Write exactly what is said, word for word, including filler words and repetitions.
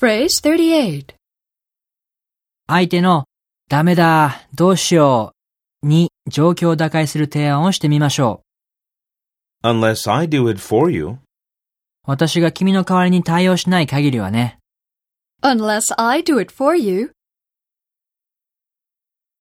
Phrase thirty-eight. 相手のダメだ、どうしように状況を打開する提案をしてみましょう。 Unless I do it for you. 私が君の代わりに対応しない限りはね。 Unless I do it for you.